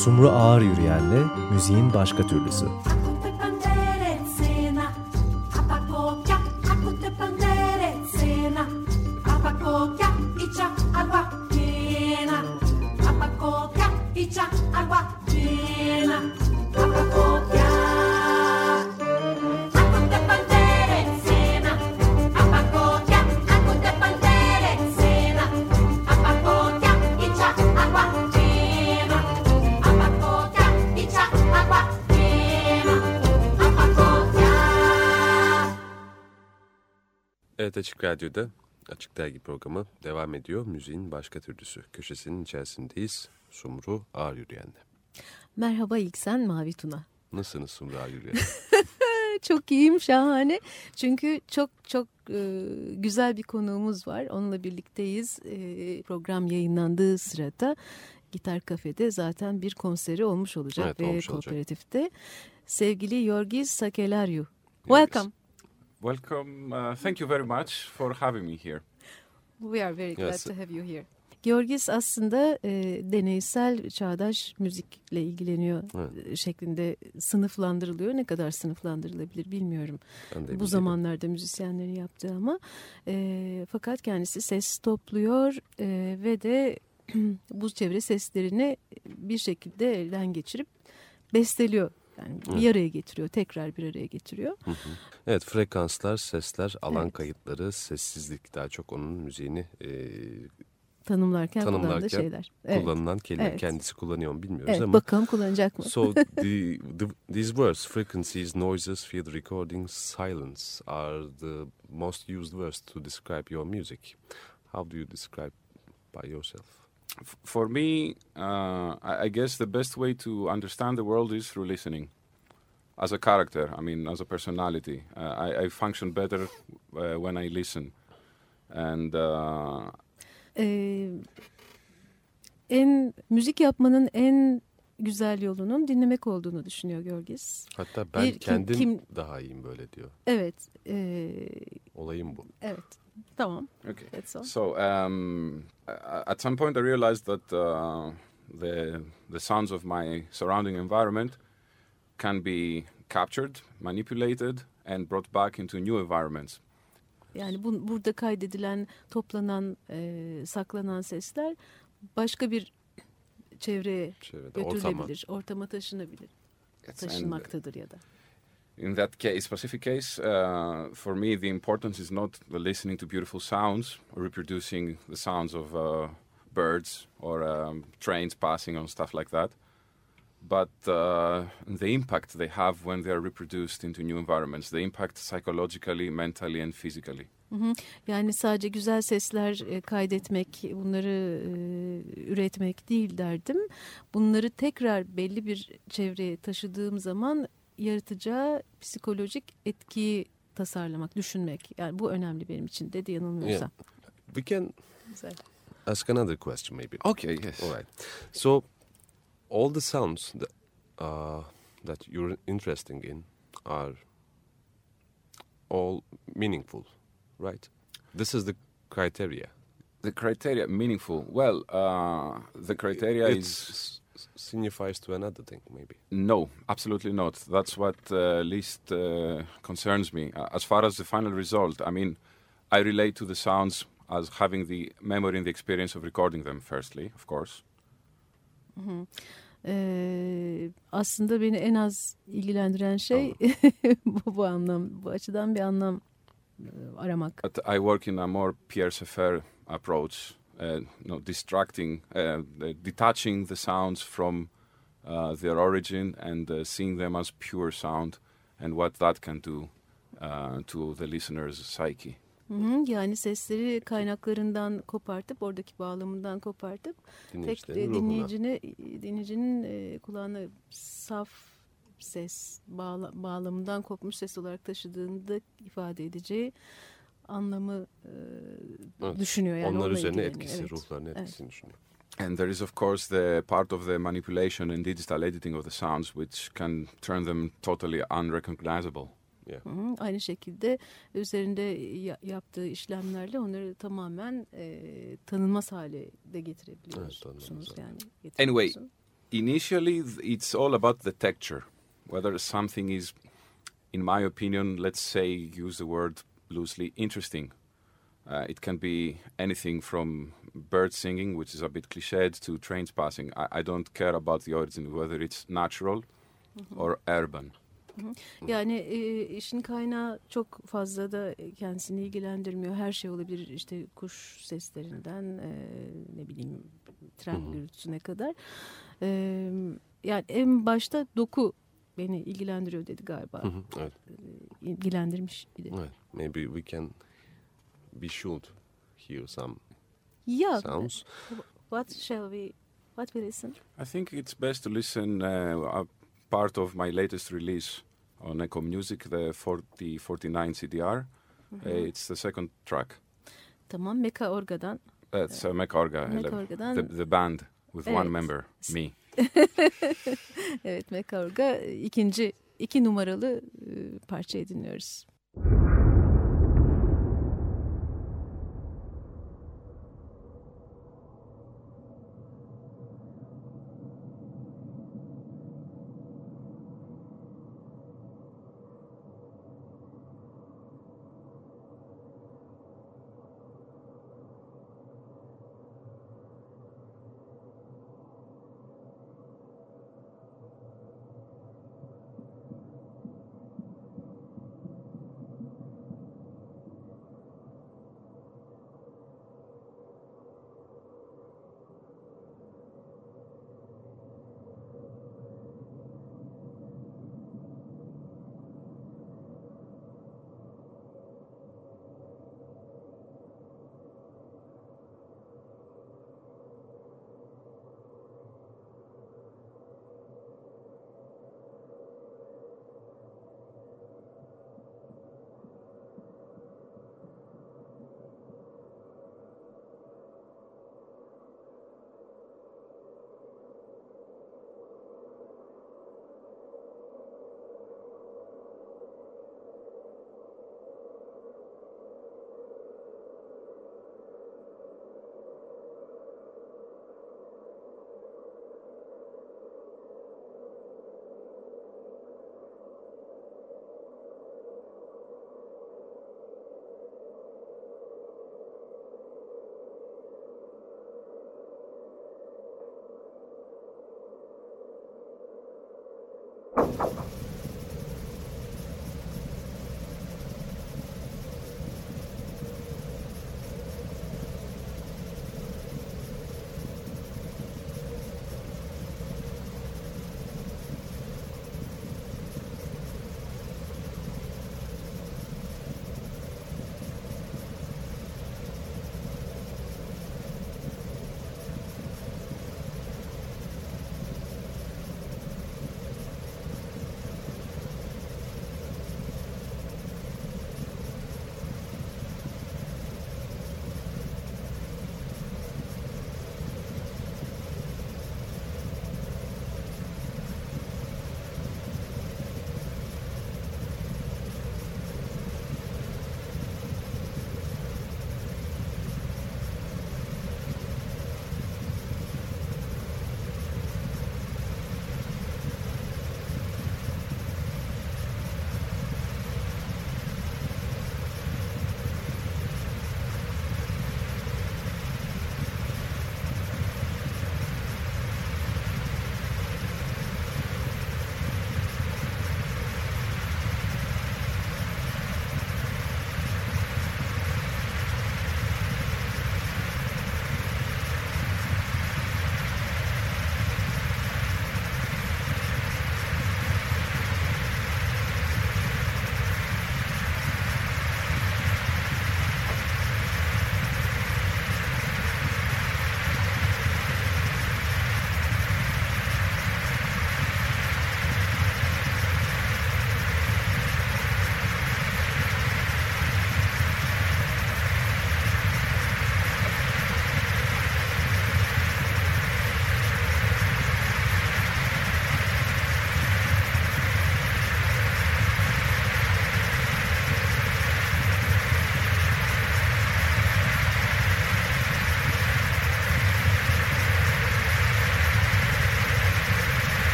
Sumru Ağır Yürüyen'le müziğin başka türlüsü. Evet, Açık Radyo'da Açık Dergi programı devam ediyor. Müziğin başka türlüsü köşesinin içerisindeyiz. Sumru Ağır Yürüyen'le. Merhaba İlksen, Mavi Tuna. Nasılsınız Sumru Ağır Yürüyen? Çok iyiyim, şahane. Çünkü çok güzel bir konuğumuz var. Onunla birlikteyiz. Program yayınlandığı sırada Gitar Kafe'de zaten bir konseri olmuş olacak. Evet, ve olmuş kooperatifte. olacak. Sevgili Yorgis Sakellariou. Welcome. Welcome. Thank you very much for having me here. We are very glad Yes. to have you here. Yorgis aslında deneysel çağdaş müzikle ilgileniyor şeklinde sınıflandırılıyor. Ne kadar sınıflandırılabilir bilmiyorum. Bu zamanlarda müzisyenlerin yaptığı ama fakat kendisi ses topluyor ve de bu çevre seslerini bir şekilde elden geçirip besteliyor. Yani bir araya getiriyor, tekrar bir araya getiriyor. Hı hı. Evet, frekanslar, sesler, alan kayıtları, sessizlik daha çok onun müziğini tanımlarken kullandığı şeyler. Kullanılan kelime. Kendisi kullanıyor mu bilmiyoruz evet, ama. Bakalım kullanacak mı? So these words, frequencies, noises, field recordings, silence are the most used words to describe your music. How do you describe by yourself? For me, I guess the best way to understand the world is through listening. As a character, I mean, as a personality, I function better when I listen. And müzik yapmanın en güzel yolunun dinlemek olduğunu düşünüyor Yorgis. Hatta ben kendim daha iyiyim böyle diyor. Evet. Olayım bu. Evet. Tamam. Okay. That's all. So at some point I realized that the sounds of my surrounding environment can be captured, manipulated and brought back into new environments. Yani burada kaydedilen, toplanan, saklanan sesler başka bir çevreye götürülebilir, ortama taşınabilir. Taşınmaktadır ya da. In that case, specific case, for me the importance is not the listening to beautiful sounds or reproducing the sounds of birds or trains passing on, stuff like that. But the impact they have when they are reproduced into new environments, the impact psychologically, mentally and physically. Yani sadece güzel sesler kaydetmek, bunları üretmek değil derdim. Bunları tekrar belli bir çevreye taşıdığım zaman yaratacağı psikolojik etkiyi tasarlamak, düşünmek. Yani bu önemli benim için dedi yanılmıyorsam. Yeah. We can ask another question maybe. Okay, yes. All right. So all the sounds that you're interested in are all meaningful, right? This is the criteria. The criteria, meaningful. Well, the criteria signifies to another thing, maybe. No, absolutely not. That's what least concerns me. As far as the final result, I mean, I relate to the sounds as having the memory and the experience of recording them, firstly, of course. Hı-hı. Aslında beni en az ilgilendiren şey bu açıdan bir anlam aramak. But I work in a more Pierre Schaeffer approach, detaching the sounds from their origin and seeing them as pure sound and what that can do to the listener's psyche. Yani sesleri kaynaklarından kopartıp, oradaki bağlamından kopartıp dinleyicinin kulağına saf ses, bağlamından kopmuş ses olarak taşıdığında ifade edeceği anlamı düşünüyor. Yani onlar üzerine etkisi, ruhlarına etkisini düşünüyor. And there is of course the part of the manipulation and digital editing of the sounds which can turn them totally unrecognizable. Yeah. Aynı şekilde üzerinde yaptığı işlemlerle onları tamamen tanınmaz hale de getirebiliyorsunuz. Anyway, Initially, it's all about the texture. Whether something is, in my opinion, let's say, use the word loosely, interesting. It can be anything from bird singing, which is a bit cliched, to trains passing. I don't care about the origin, whether it's natural or urban. Yani işin kaynağı çok fazla da kendisini ilgilendirmiyor. Her şey olabilir, işte kuş seslerinden ne bileyim tren gürültüsüne kadar. Yani en başta doku beni ilgilendiriyor dedi galiba. Evet. İlgilendirmiş idi. Evet. Maybe we can, we should hear some sounds. What we listen? I think it's best to listen a part of my latest release on Echo Music, the 4049 CDR. It's the second track. Tamam, Meka Orga'dan. It's Meka Orga'dan. The band with one member, me. Evet, Meka Orga iki numaralı parçayı dinliyoruz.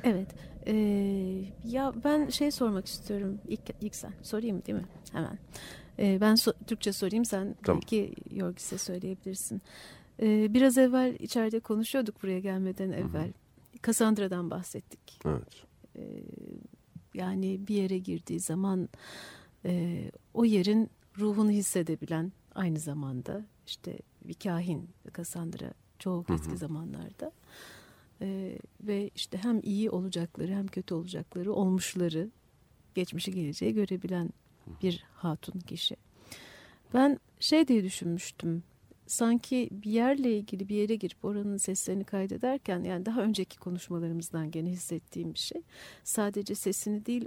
Evet. Ya ben sormak istiyorum. İlk sen sorayım değil mi? Hemen. Ben Türkçe sorayım, sen tamam. Belki Yorgis'e söyleyebilirsin. Biraz evvel içeride konuşuyorduk buraya gelmeden evvel. Cassandra'dan bahsettik. Evet. Yani bir yere girdiği zaman o yerin ruhunu hissedebilen, aynı zamanda işte bir kahin Cassandra çok eski zamanlarda. Ve işte hem iyi olacakları hem kötü olacakları, olmuşları, geçmişi geleceği görebilen bir hatun kişi. Ben diye düşünmüştüm. Sanki bir yerle ilgili bir yere girip oranın seslerini kaydederken, yani daha önceki konuşmalarımızdan gene hissettiğim bir şey. Sadece sesini değil,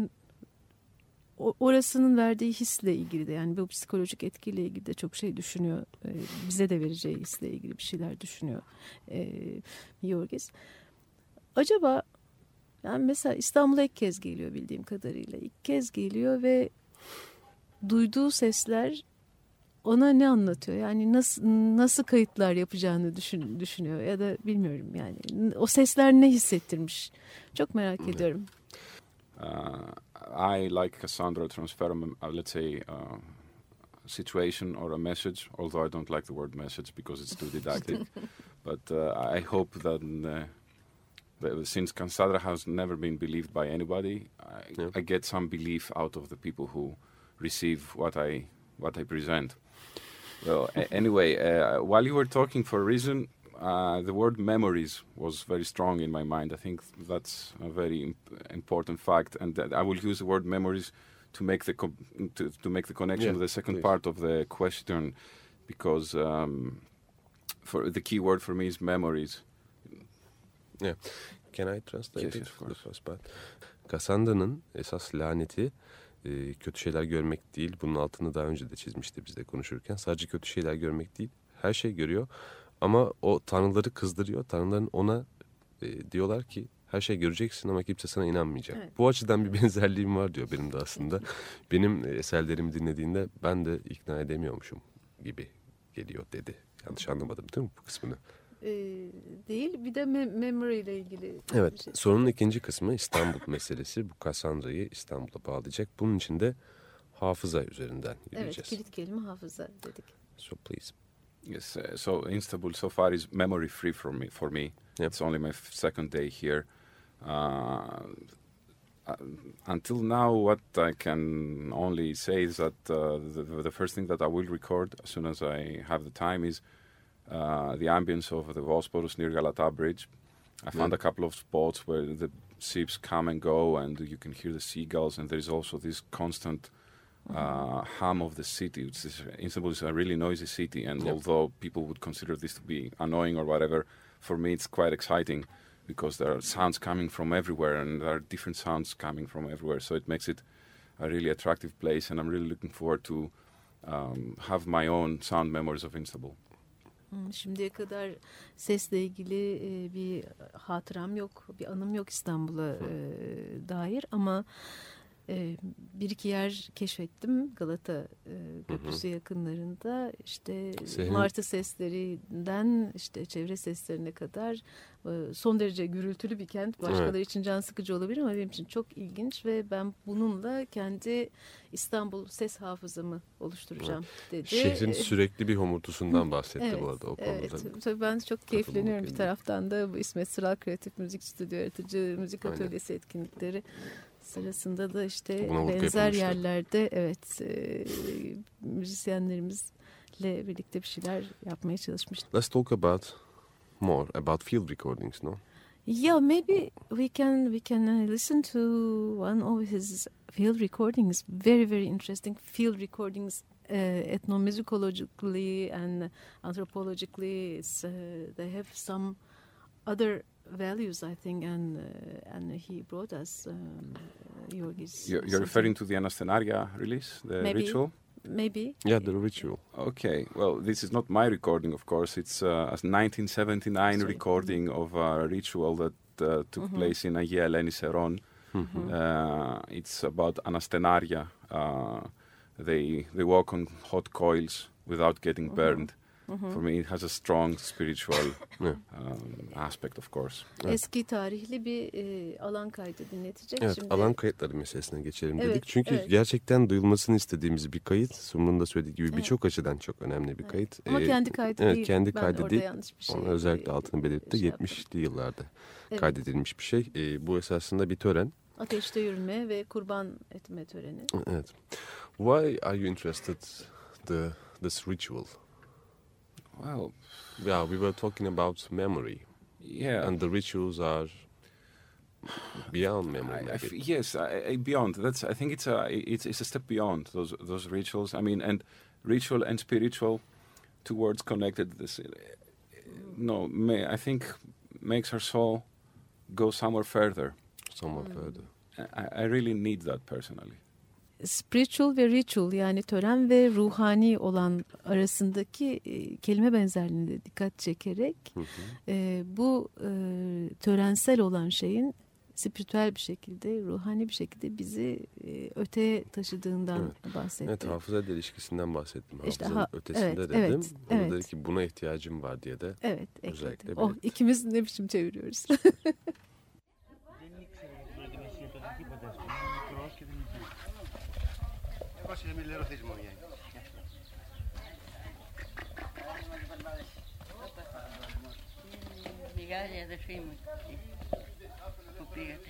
orasının verdiği hisle ilgili de, yani bu psikolojik etkiyle ilgili de çok şey düşünüyor. Bize de vereceği hisle ilgili bir şeyler düşünüyor Yorgis. Acaba yani mesela İstanbul'a ilk kez geliyor bildiğim kadarıyla. İlk kez geliyor ve duyduğu sesler ona ne anlatıyor? Yani nasıl kayıtlar yapacağını düşünüyor ya da bilmiyorum yani. O sesler ne hissettirmiş? Çok merak ediyorum. I like Cassandra transfer, let's say, situation or a message, although I don't like the word message because it's too didactic. But I hope that since Cassandra has never been believed by anybody, I get some belief out of the people who receive what I present. Well, anyway, while you were talking, for a reason, the word memories was very strong in my mind. I think that's a very important fact, and I will use the word memories to make the connection with the second part of the question, because for the key word for me is memories. Yeah. Can I translate yes, the first part? Cassandra'nın esas laneti kötü şeyler görmek değil. Bunun altını daha önce de çizmişti bizle konuşurken. Sadece kötü şeyler görmek değil. Her şey görüyor. Ama o tanrıları kızdırıyor. Tanrıların ona diyorlar ki her şey göreceksin ama kimse sana inanmayacak. Evet. Bu açıdan bir benzerliğim var diyor benim de aslında. Benim eserlerimi dinlediğinde ben de ikna edemiyormuşum gibi geliyor dedi. Yanlış anlamadım değil mi bu kısmını? Değil. Bir de memory ile ilgili. Evet. Şey. Sorunun ikinci kısmı İstanbul meselesi. Bu Cassandra'yı İstanbul'a bağlayacak. Bunun için de hafıza üzerinden yürüyeceğiz. Evet. Kilit kelime hafıza dedik. So please. Yes. So Istanbul so far is memory free for me. Yep. It's only my second day here. Until now, what I can only say is that the first thing that I will record as soon as I have the time is the ambience of the Bosporus near Galata Bridge. I found a couple of spots where the ships come and go and you can hear the seagulls, and there's also this constant hum of the city. Istanbul is a really noisy city, and although people would consider this to be annoying or whatever, for me it's quite exciting because there are sounds coming from everywhere and there are different sounds coming from everywhere, so it makes it a really attractive place, and I'm really looking forward to have my own sound memories of Istanbul. Şimdiye kadar sesle ilgili bir hatıram yok, bir anım yok İstanbul'a dair, ama bir iki yer keşfettim Galata Köprüsü yakınlarında. İşte martı seslerinden işte çevre seslerine kadar son derece gürültülü bir kent. Başkaları için can sıkıcı olabilir ama benim için çok ilginç ve ben bununla kendi İstanbul ses hafızamı oluşturacağım dedi. Şehrin sürekli bir homurtusundan bahsetti bu arada o konuda. Evet, tabii ben çok keyifleniyorum. Bir taraftan da bu İsmet Sıral Kreatif Müzik Stüdyo Yaratıcı Müzik Atölyesi etkinlikleri sırasında da işte benzer yerlerde müzisyenlerimizle birlikte bir şeyler yapmaya çalışmıştık. Let's talk more about field recordings, no? Yeah, maybe we can listen to one of his field recordings. Very, very interesting field recordings, ethnomusicologically and anthropologically. They have some other values, I think, and he brought us Yorgis. You're referring to the Anastenaria release, the ritual? Maybe. Yeah, the ritual. Okay, well, this is not my recording, of course. It's a 1979 recording of a ritual that took place in Agia Eleni Seron. It's about Anastenaria. They walk on hot coils without getting burned. For me it has a strong spiritual aspect of course. Eski tarihli bir alan kaydı dinletecek. Evet, şimdi. Alan kayıtları meselesine geçelim dedik. Evet, Çünkü gerçekten duyulmasını istediğimiz bir kayıt. Sumru'nun da söylediği gibi birçok açıdan çok önemli bir kayıt. Ama kendi kaydı değil. Kendi ben kaydı orada değil. yanlış bir şey. Onu özellikle altını belirtti. 70'li yıllarda kaydedilmiş bir şey. Bu esasında bir tören. Ateşte yürüme ve kurban etme töreni. Evet. Why are you interested this ritual? Well, we were talking about memory. Yeah. And the rituals are beyond memory. Beyond. I think it's a step beyond those rituals. I mean, and ritual and spiritual, two words connected. I think makes our soul go somewhere further. I really need that personally. Spiritual ve ritual, yani tören ve ruhani olan arasındaki kelime benzerliğine dikkat çekerek bu törensel olan şeyin spiritüel bir şekilde, ruhani bir şekilde bizi öteye taşıdığından bahsettim. Evet, hafıza ilişkisinden bahsettim. İşte Hafızanın ötesinde dedim. Orada dedi ki buna ihtiyacım var diye de özellikle belirtti. İkimiz ne biçim çeviriyoruz. Μεγάλη αδερφή μου που πήγατε.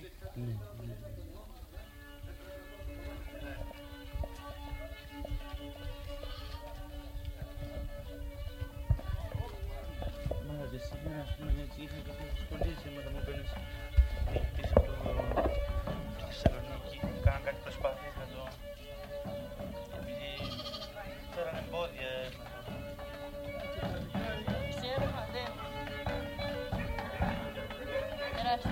Μάγαζε σήμερα, ας πούμε, έτσι είχα κάποιες δυσκολίες σήμερα μου παίρνεις πίσω από τη Θεσσαλονίκη. Κάναν κάτι προσπάθειες να το... επειδή φέραν εμπόδια. Ξέρω, μα δεν... Περάστε.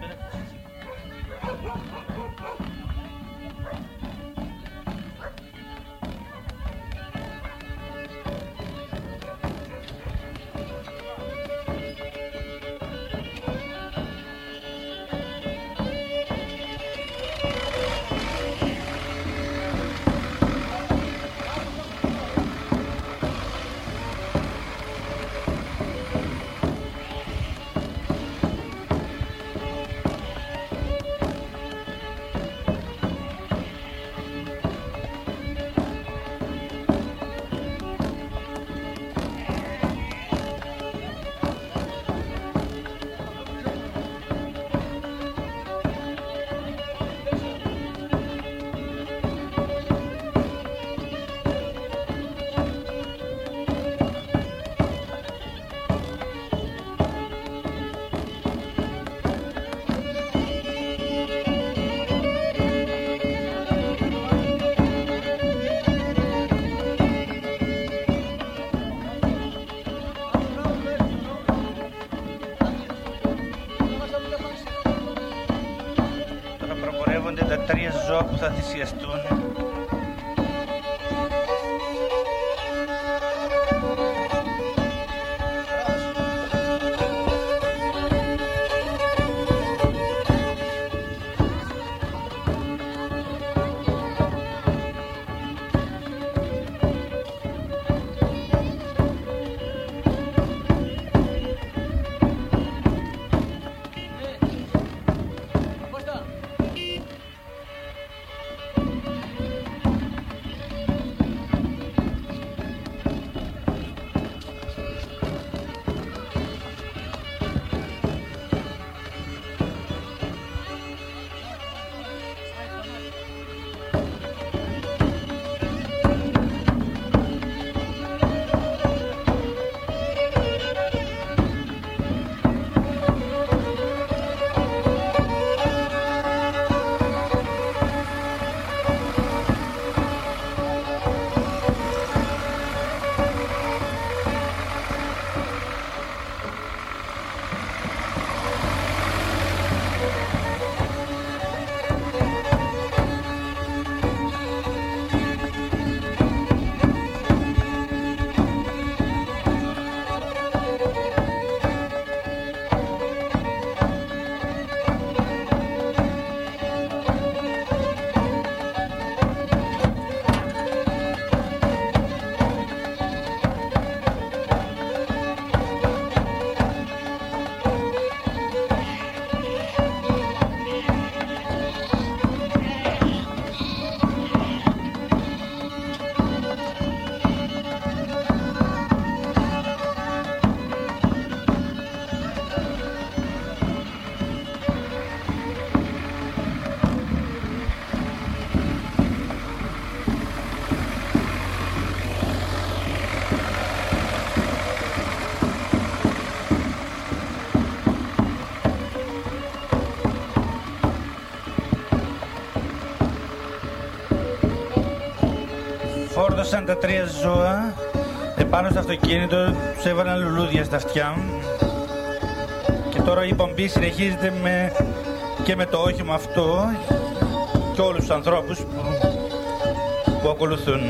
Τα τρία ζώα που θα θυσιαστούν. σκότωσαν τα 3 ζώα επάνω στο αυτοκίνητο, τους έβαλαν λουλούδια στα αυτιά. Και τώρα η πομπή συνεχίζεται και με το όχημα αυτό και όλους τους ανθρώπους που ακολουθούν.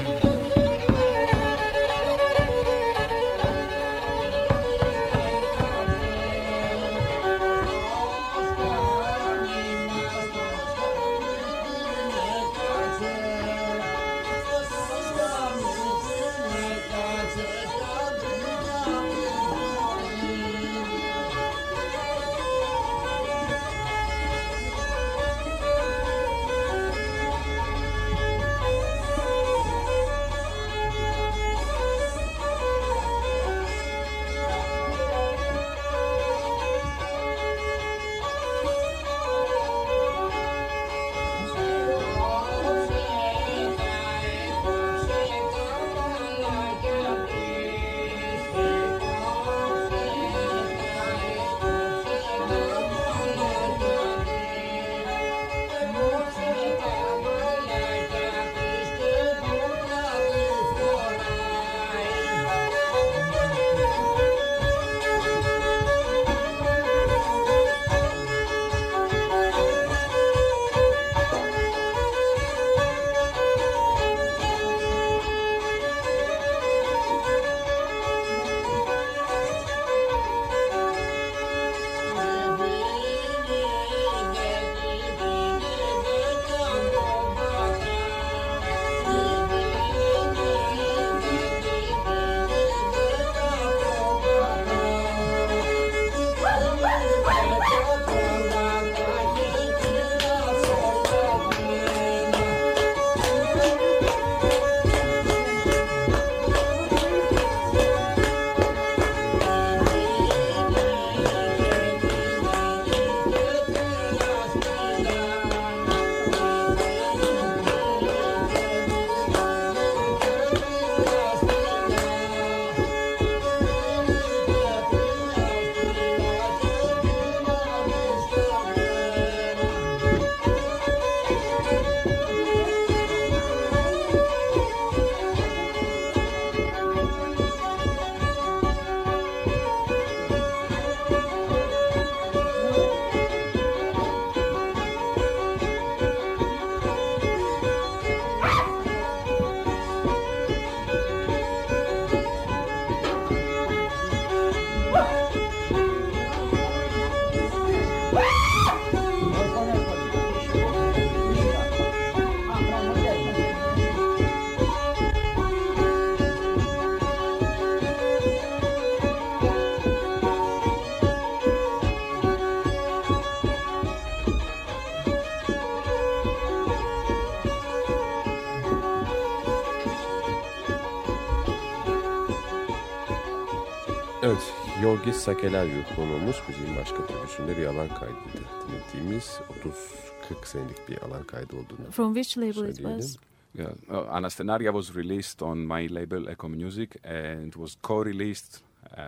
Evet, Yorgis Sakellariou konuğumuz. Müziğin başka türlüsünde bir alan kaydıydı. Dinlediğimiz 30-40 senelik bir alan kaydı olduğunu From which label it söyleyelim. was? Yeah, Anastenaria was released on my label Echo Music and was co-released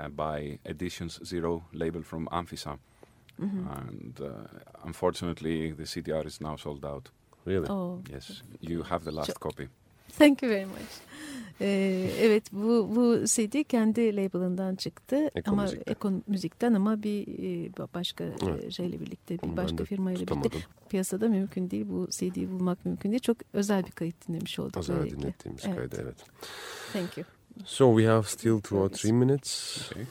by Editions Zero label from Amphisa. And unfortunately, the CDR is now sold out. Really? Oh. Yes, you have the last copy. Thank you very much. Evet, bu CD kendi label'ından çıktı ama Echo Müzik'ten ama bir başka şeyle birlikte, bir başka firmayla birlikte piyasada mümkün değil. Bu CD'yi bulmak mümkün değil. Çok özel bir kayıt dinlemiş olduk. Özel dinlettiğimiz kaydı, evet. Thank you. So we have still 2 or 3 minutes. Okay.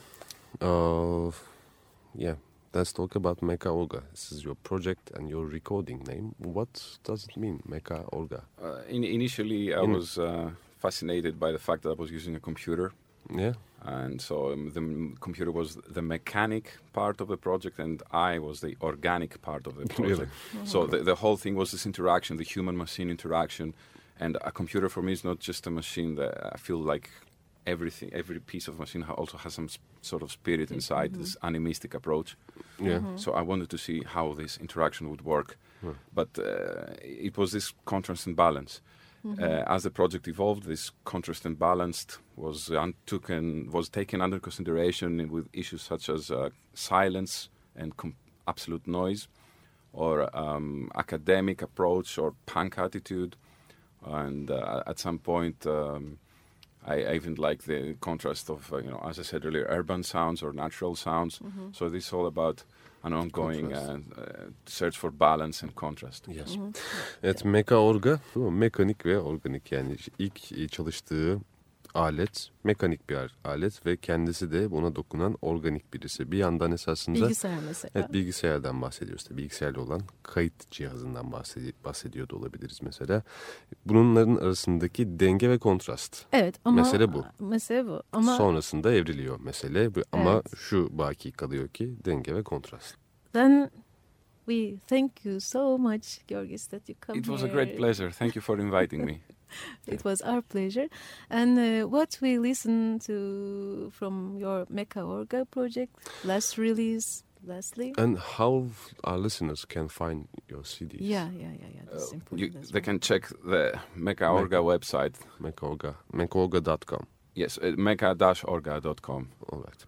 Yeah. Let's talk about Meka Olga. This is your project and your recording name. What does it mean, Meka Olga? Initially, I was fascinated by the fact that I was using a computer. Yeah. And so the computer was the mechanic part of the project and I was the organic part of the project. Really? So the whole thing was this interaction, the human-machine interaction. And a computer for me is not just a machine that I feel like every piece of machine also has some sort of spirit inside, this animistic approach. Yeah. So I wanted to see how this interaction would work. But it was this contrast and balance. As the project evolved, this contrast and balance was taken under consideration with issues such as silence and absolute noise, or academic approach or punk attitude. And at some point, I even like the contrast of, as I said earlier, urban sounds or natural sounds. So this is all about an ongoing search for balance and contrast. Yes. Evet, Meka Orga, mekanik ve organik, yani ilk çalıştığı alet mekanik bir alet ve kendisi de buna dokunan organik birisi. Bir yandan esasında bilgisayar mesela. Evet, bilgisayardan bahsediyoruz. Bilgisayarla olan kayıt cihazından bahsediyor da olabiliriz mesela. Bunların arasındaki denge ve kontrast. Evet ama mesele bu. Mesele bu. Ama sonrasında evriliyor mesele. Ama evet, şu baki kalıyor ki denge ve kontrast. Then we thank you so much, Georgis, that you come It was here. a great pleasure. Thank you for inviting me. It was our pleasure. And what we listen to from your Meka Orga project, last release, lastly? And how our listeners can find your CDs? Yeah. That's important as They well. can check the Meka Orga website. Mekaorga.com. Yes, meka-orga.com. Alright.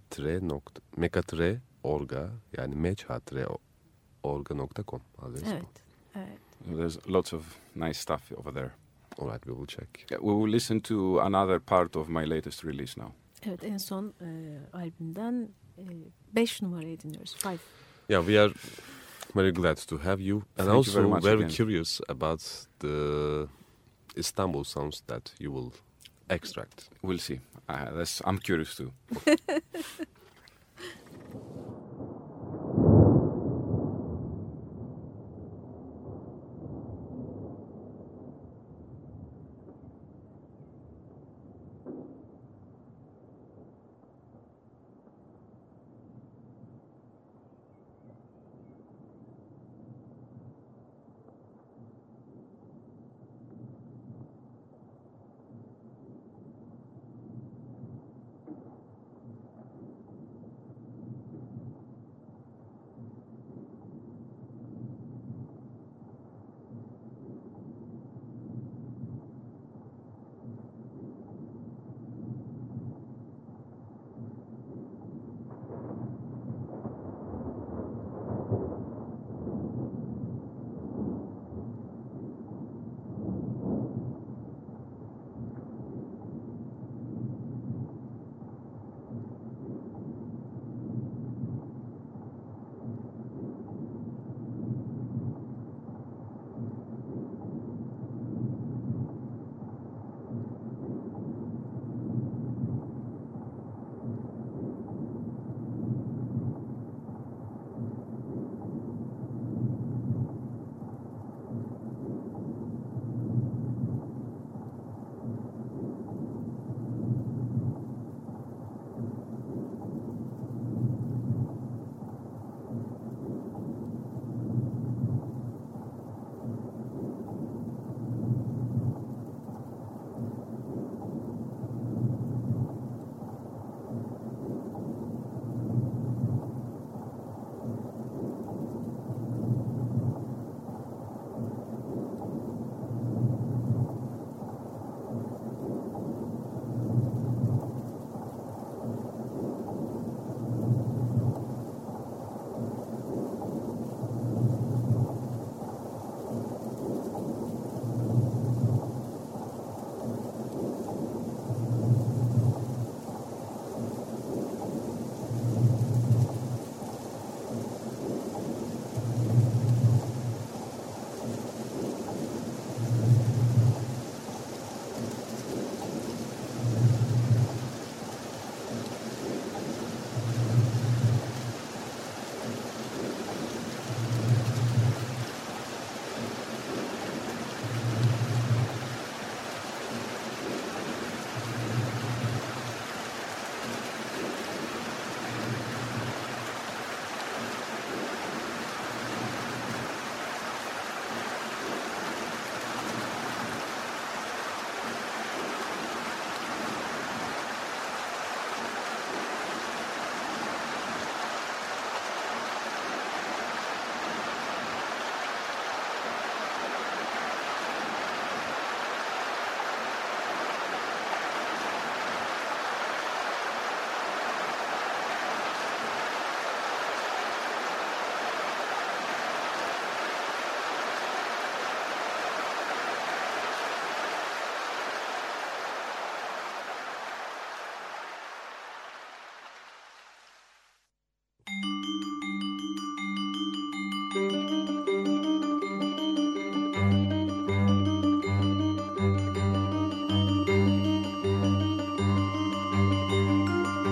Meka-orga, yani mecha-orga.com. Evet. There's lots of nice stuff over there. Alright, we will check. Yeah, we will listen to another part of my latest release now. Evet, en son albümden 5 numarayı dinliyoruz. 5. Yeah, we are very glad to have you. And Thank you very also much very again. curious about the Istanbul sounds that you will extract. We'll see. I'm curious too.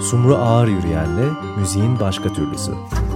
Sumru Ağır Yürüyen'le müziğin başka türlüsü.